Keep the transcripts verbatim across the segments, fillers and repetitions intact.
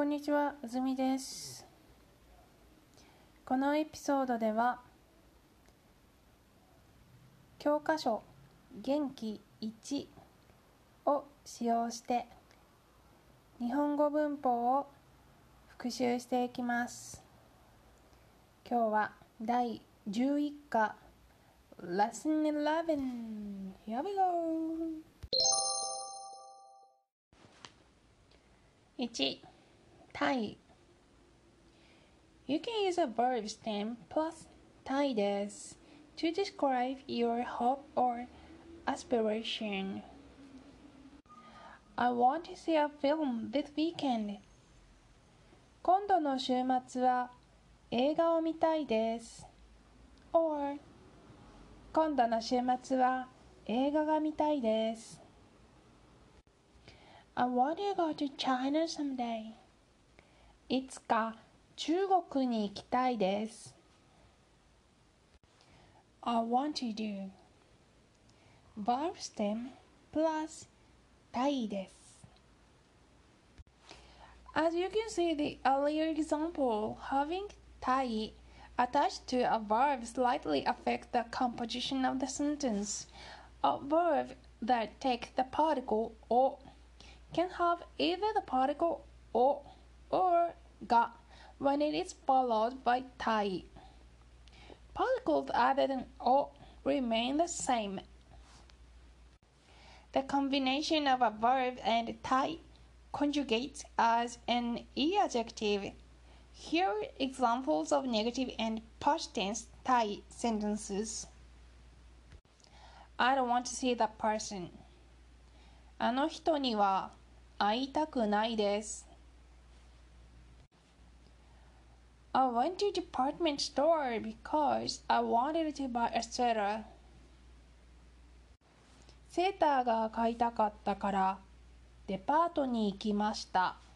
こんにちは、うずみです。このエピソードでは教科書元気いちを使用して日本語文法を復習していきます。今日は第じゅういっ課 Lesson eleven. Here we go! いち. たい You can use a verb stem plus たいです to describe your hope or aspiration. I want to see a film this weekend. 今度の週末は映画を見たいです。or 今度の週末は映画が見たいです。I want to go to China someday. いつか中国に行きたいです。I want to do verb stem plus たいです。As you can see the earlier example, having たい attached to a verb slightly affects the composition of the sentence. A verb that takes the particle を can have either the particle を or が when it is followed by たい. Particles other than を remain the same. The combination of a verb and たい conjugates as an E adjective. Here are examples of negative and past tense たい sentences. I don't want to see that person. あの人には会いたくないです。I went to department store because I wanted to buy a sweater. セーターが買いたかったからデパートに行きました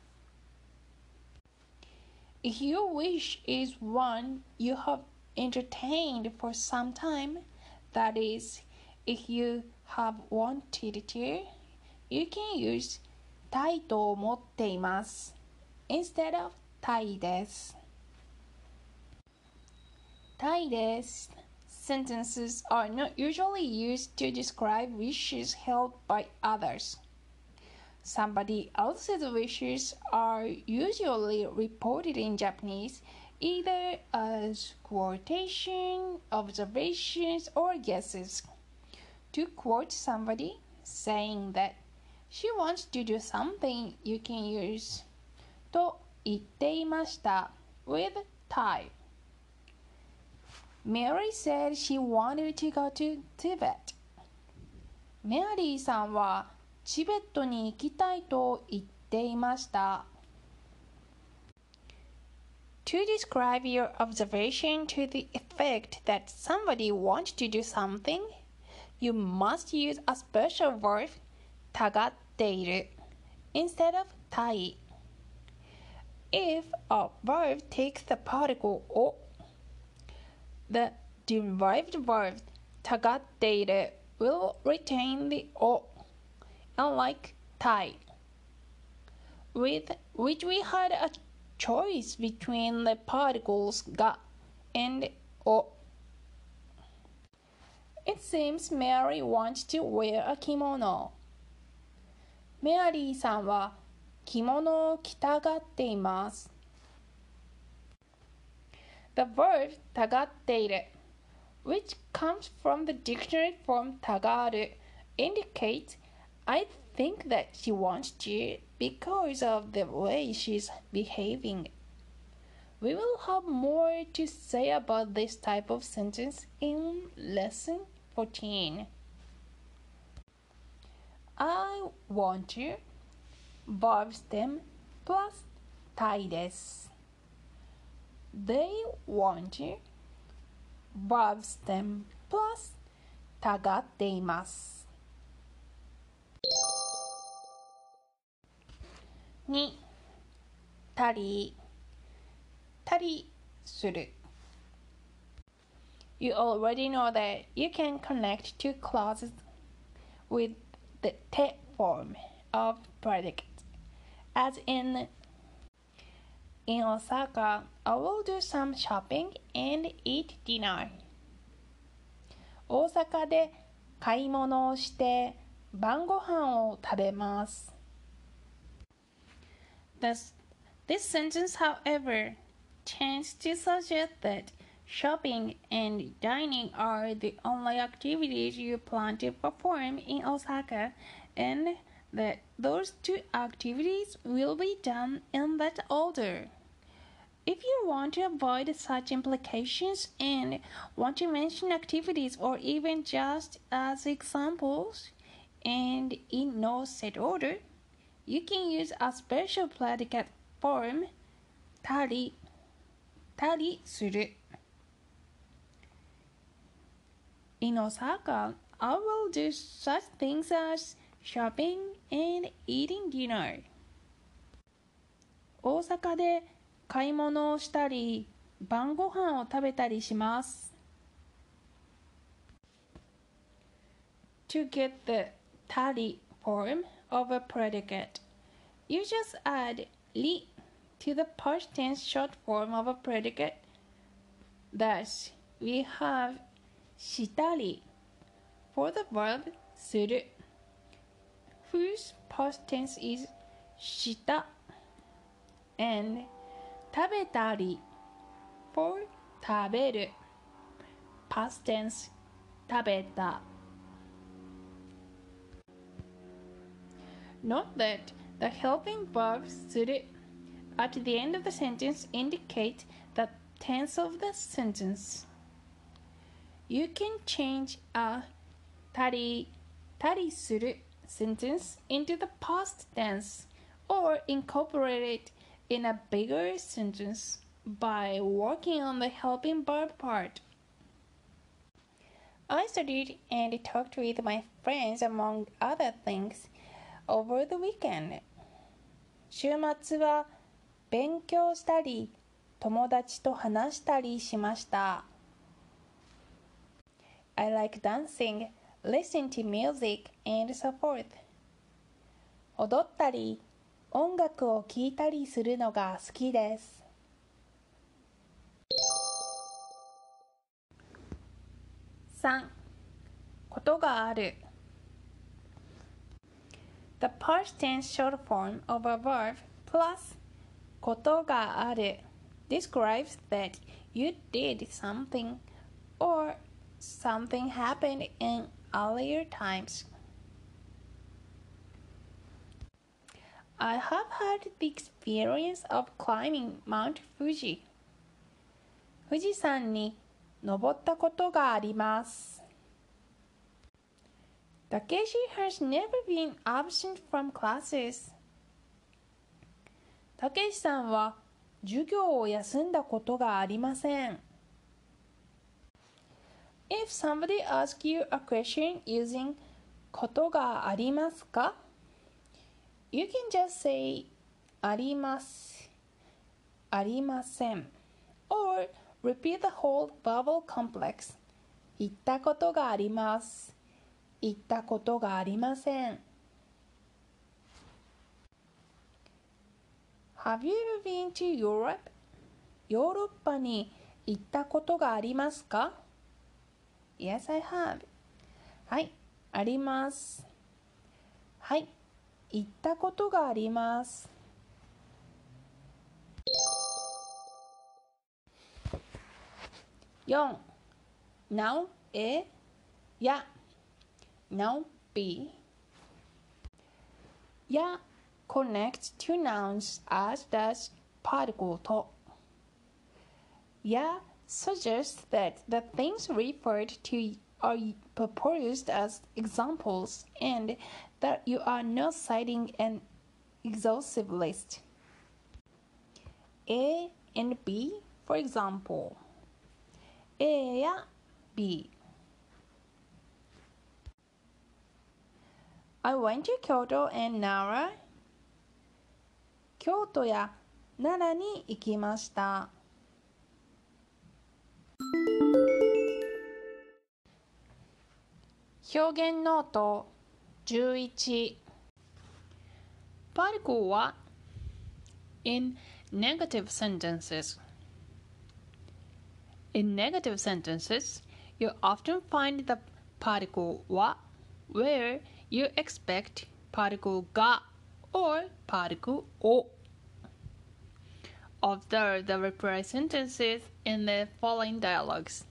。If your wish is one you have entertained for some time, that is, if you have wanted to, you can use たいと思っています instead of たいです。たいです。Sentences are not usually used to describe wishes held by others. Somebody else's wishes are usually reported in Japanese either as quotation, observations, or guesses. To quote somebody saying that she wants to do something, you can use と言っていました with たい. Mary said she wanted to go to Tibet. メアリーさんはチベットに行きたいと言っていました。To describe your observation to the effect that somebody wants to do something, you must use a special verb たがっている instead of たい. If a verb takes the particle を the derived verb たがっている will retain the を unlike たい with which we had a choice between the particles が and を. It seems Mary wants to wear a kimono. メアリーさんは着物を着たがっています。The verb たがっている which comes from the dictionary form たがる indicates I think that she wants to because of the way she's behaving. We will have more to say about this type of sentence in lesson fourteen. I want to verb stem plus たいです。They want to verb stem plus たがっています。に. たりたりする You already know that you can connect two clauses with the te form of predicate, as in In Osaka, I will do some shopping and eat dinner. 大阪で買い物をして晩ご飯を食べます。Thus, this sentence, however, tends to suggest that shopping and dining are the only activities you plan to perform in Osaka, and that those two activities will be done in that order. If you want to avoid such implications and want to mention activities or even just as examples, and in no set order, you can use a special predicate form, たり、たりする。In Osaka, I will do such things as shopping and eating dinner. 大阪で買い物をしたり、晩ご飯を食べたりします。To get the たり form of a predicate, you just add り to the past tense short form of a predicate. Thus, we have したり for the verb する whose past tense is した and 食べたり for 食べる past tense 食べた Note that the helping verb する at the end of the sentence indicate the tense of the sentence. You can change a たりたりする sentence into the past tense or incorporate it in a bigger sentence by working on the helping verb part. I studied and talked with my friends among other things over the weekend. 週末は勉強したり友達と話したりしました。I like dancing, listening to music, and so forth. 踊ったり、音楽を聴いたりするのが好きです。さん. ことがある The past tense short form of a verb plus ことがある describes that you did something or something happened in earlier times. I have had the experience of climbing Mount Fuji. 富士山に登ったことがあります。Takeshi has never been absent from classes. たけしさんは授業を休んだことがありません。If somebody asks you a question using ことがありますか? You can just say あります、ありません or repeat the whole vowel complex 行ったことがあります、行ったことがありません。Have you ever been to Europe? ヨーロッパに行ったことがありますか? Yes, I have. はい、あります。はい、行ったことがあります。よん. Noun A や Noun B や connects two nouns as does particle と や suggests that the things referred to are proposed as examples and that you are not citing an exhaustive list. A and B, for example. A や B. I went to Kyoto and Nara. 京都や奈良に行きました。表現ノートじゅういち Particle は In Negative sentences. In negative sentences, you often find the particle wa where you expect particle ga or particle o. Observe the reply sentences in the following dialogues.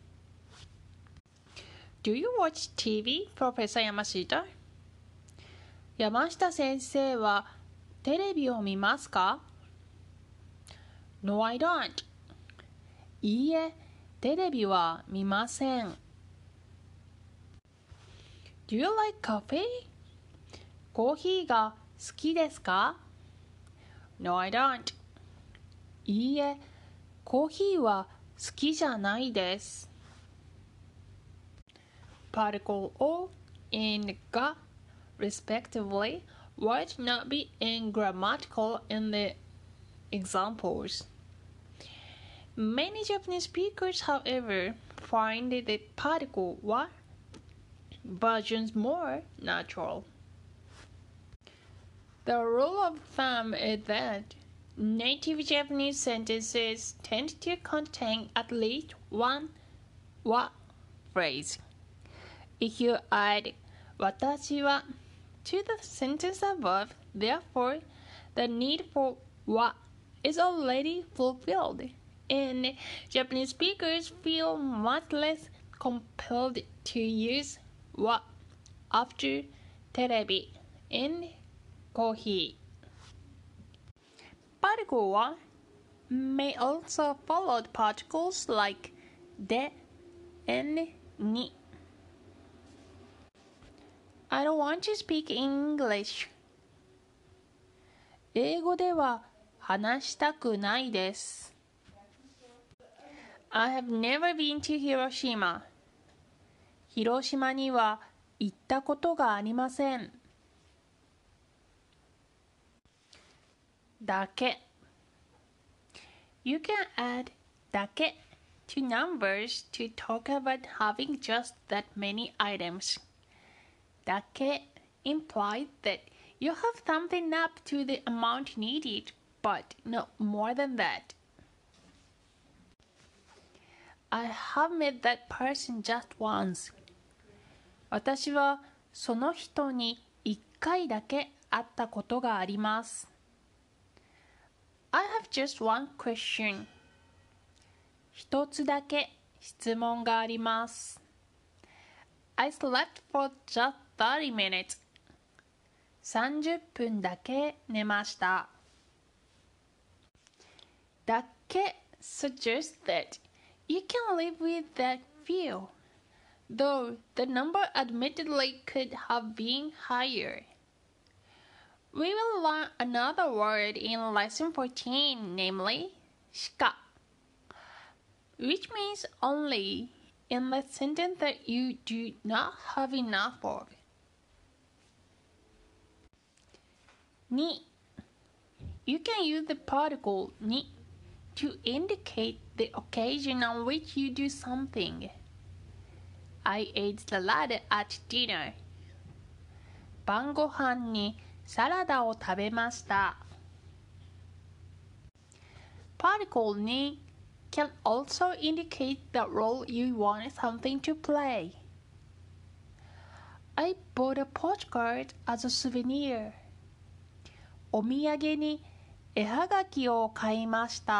Do you watch ティーブイ, Professor Yamashita? 山下先生はテレビを見ますか? No, I don't. いいえ、テレビは見ません。Do you like coffee? コーヒーが好きですか? No, I don't. いいえ、コーヒーは好きじゃないです。Particle o and ga, respectively, would not be ungrammatical in the examples. Many Japanese speakers, however, find the particle wa versions more natural. The rule of thumb is that native Japanese sentences tend to contain at least one wa phrase. If you add 私は to the sentence above, therefore, the need for wa is already fulfilled, and Japanese speakers feel much less compelled to use wa after terebi and coffee. Particle wa may also follow particles like de and ni. I don't want to speak English. 英語では話したくないです。I have never been to Hiroshima. 広島には行ったことがありません。だけ You can add だけ to numbers to talk about having just that many items. だけ implies that you have something up to the amount needed, but not more than that. I have met that person just once. 私はその人に一回だけ会ったことがあります。I have just one question. 一つだけ質問があります。I slept for just thirty minutes. さんじゅっぷんだけ寝ました。だけ suggests that you can live with that feel, though the number admittedly could have been higher. We will learn another word in lesson fourteen, namely しか, which means only in the sentence that you do not have enough of. に You can use the particle に to indicate the occasion on which you do something. I ate salad at dinner. 晩ご飯にサラダを食べました。Particle に can also indicate the role you want something to play. I bought a postcard as a souvenir. お土産に絵はがきを買いました。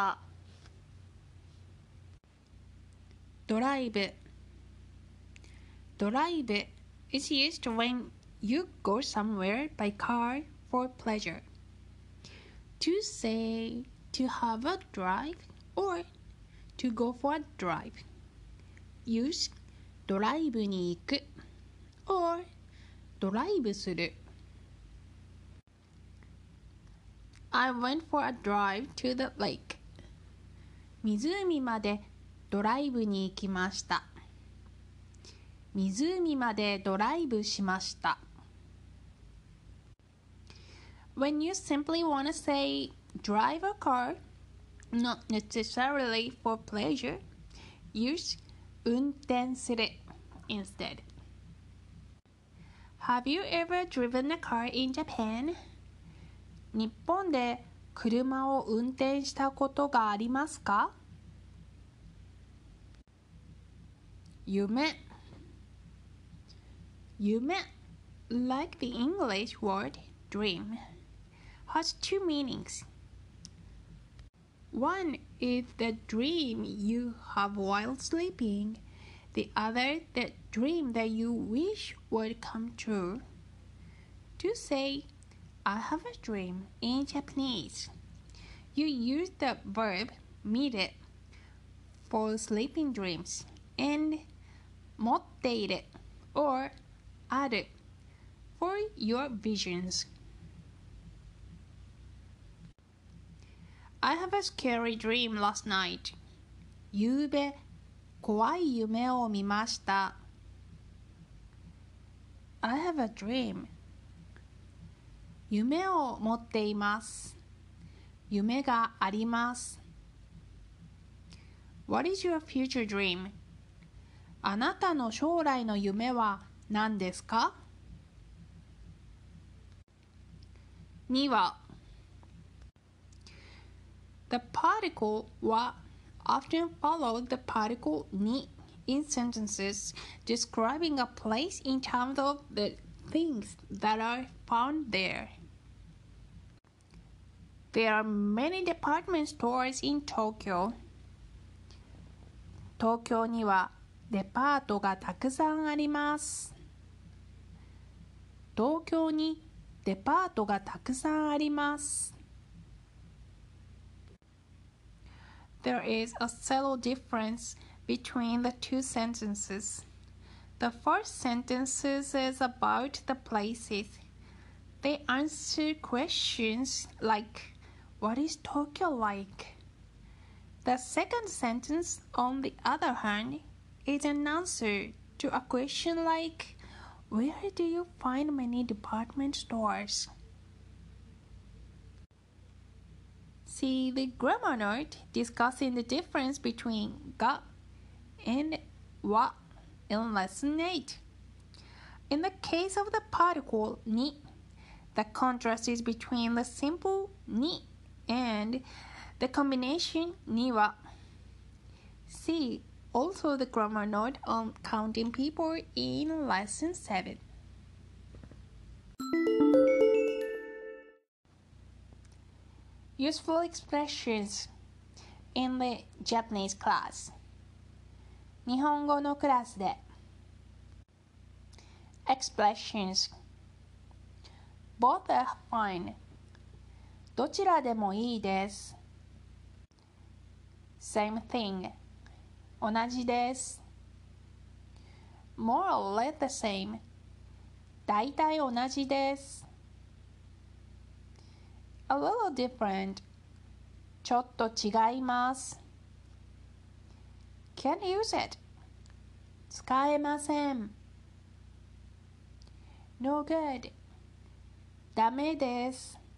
ドライブ ドライブ is used when you go somewhere by car for pleasure. To say to have a drive or to go for a drive. Use ドライブに行く or ドライブする。I went for a drive to the lake. 湖までドライブに行きました。湖までドライブしました。When you simply want to say drive a car, not necessarily for pleasure, use 運転する instead. Have you ever driven a car in Japan? 日本で車を運転したことがありますか？夢夢 like the English word dream has two meanings. One is the dream you have while sleeping. The other, the dream that you wish would come true. To say, I have a dream in Japanese, you use the verb mire for sleeping dreams and 持っている or ある for your visions. I have a scary dream last night. ゆうべ怖い夢を見ました。I have a dream. 夢を持っています。夢があります。What is your future dream? あなたの将来の夢は何ですか？には The particle は often follows the particle に in sentences describing a place in terms of the things that are found there. There are many department stores in Tokyo. 東京にはデパートがたくさんあります。東京にデパートがたくさんあります。There is a subtle difference between the two sentences. The first sentence is about the places. They answer questions like, what is Tokyo like? The second sentence, on the other hand, is an answer to a question like, where do you find many department stores? See the grammar note discussing the difference between ga and wa in lesson eight. In the case of the particle ni, the contrast is between the simple ni and the combination ni wa. See also the grammar note on counting people in lesson seven. Useful expressions in the Japanese class. 日本語のクラスで Expressions Both are fine. どちらでもいいです。Same thing. 同じです。More or less the same. だいたい同じです。A little different. ちょっと違います。Can't use it. 使えません。No good. ダメです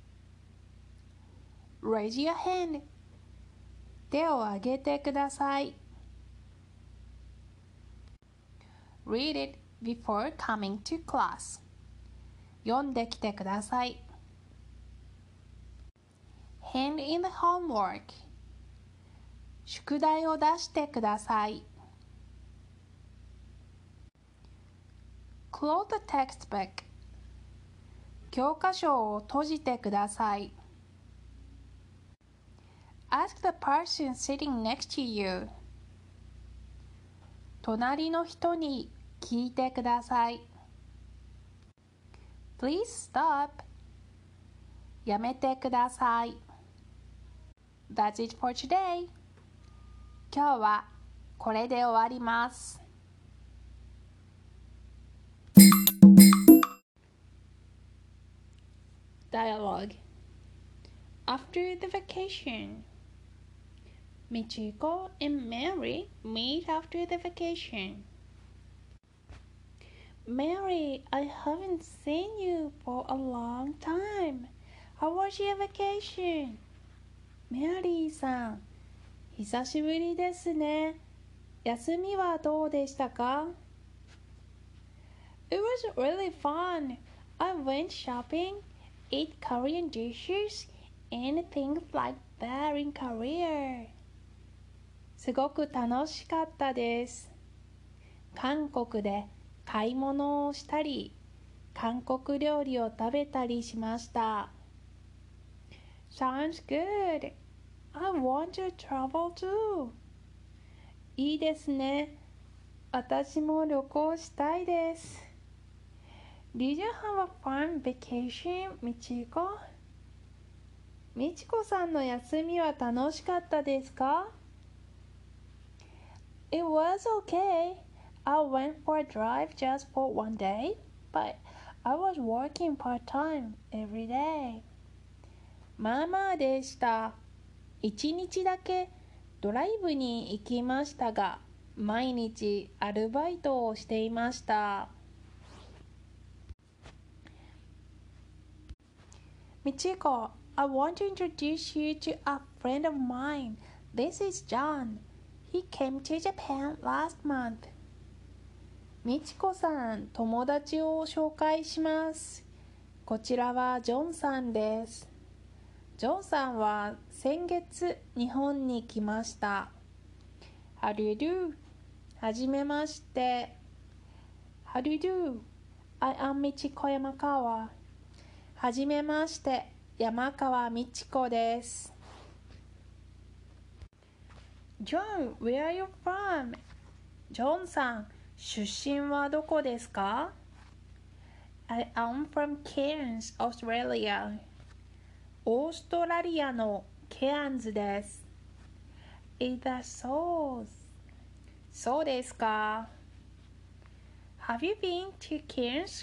。Raise your hand. 手を挙げてください。Read it before coming to class. 読んできてください。Hand in the homework. 宿題を出してください。Close the textbook. 教科書を閉じてください。Ask the person sitting next to you. 隣の人に聞いてください。Please stop. やめてください。That's it for today. 今日はこれで終わります。Dialogue After the vacation, Michiko and Mary meet after the vacation. Mary, I haven't seen you for a long time. How was your vacation? メリーさん、久しぶりですね。休みはどうでしたか？ It was really fun. I went shopping, ate Korean dishes, anything like that in Korea. すごく楽しかったです。韓国で買い物をしたり、韓国料理を食べたりしました。Sounds good. I want to travel too. いいですね。私も旅行したいです。Did you have a fun vacation, みちこ？みちこさんの休みは楽しかったですか？ It was okay. I went for a drive just for one day, but I was working part-time every day. まあまあでした。一日だけドライブに行きましたが、毎日アルバイトをしていました。Michiko, I want to introduce you to a friend of mine. This is John. He came to Japan last month. みちこさん、友達を紹介します。こちらはジョンさんです。ジョンさんは先月日本に来ました。How do you do? はじめまして。How do you do? I am Michiko Yamakawa. はじめまして、山川みちこです。John, where are you from? ジョンさん、出身はどこですか？ I am from Cairns, Australia. オーストラリアのケアンズです。Is that so? そうですか。Have you been to Cairns?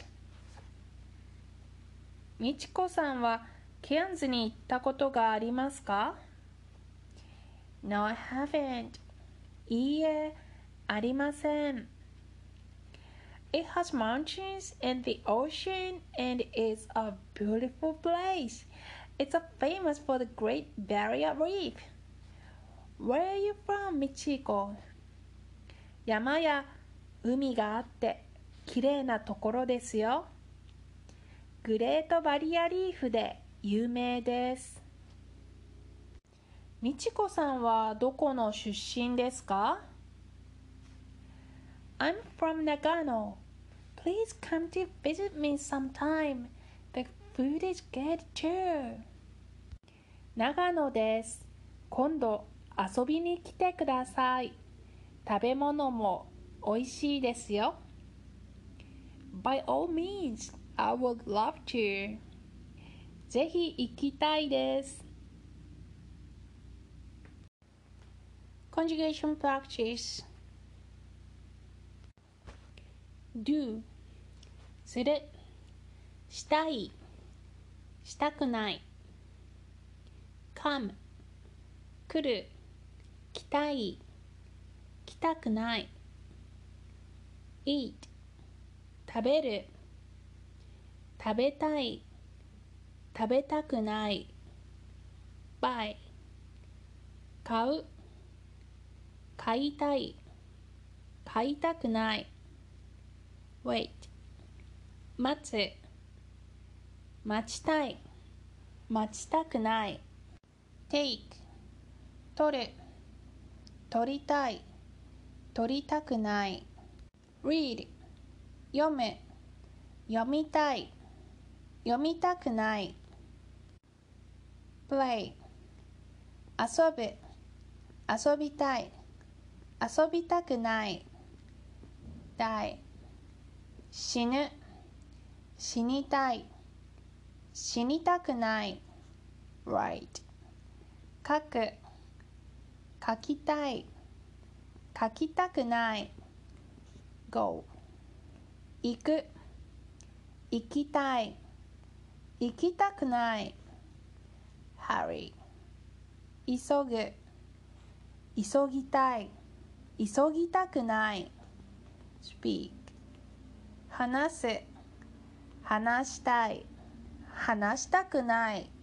みちこさんはケアンズに行ったことがありますか？ No, I haven't. いいえ、ありません。It has mountains and the ocean and it's a beautiful place. It's a famous for the Great Barrier Reef. Where are you from, Michiko? 山や海があってきれいなところですよ。グレートバリアリーフで有名です。みちこさんはどこの出身ですか？ I'm from Nagano. Please come to visit me sometime. The food is good too. 長野です。今度遊びに来てください。食べ物もおいしいですよ。By all means, I would love to. ぜひ行きたいです。Conjugation practice. Do する、したい、したくない。come 来る、来たい、来たくない。eat 食べる、食べたい、食べたくない。buy 買う、買いたい、買いたくない。wait 待つ、待ちたい、待ちたくない。take 取る、取りたい、取りたくない。read 読む、読みたい、読みたくない。play 遊ぶ、遊びたい、遊びたくない。die 死ぬ、死にたい、死にたくない。write 書く、書きたい、書きたくない。go 行く、行きたい、行きたくない。hurry 急ぐ、急ぎたい、急ぎたくない。speak 話す、話したい、話したくない。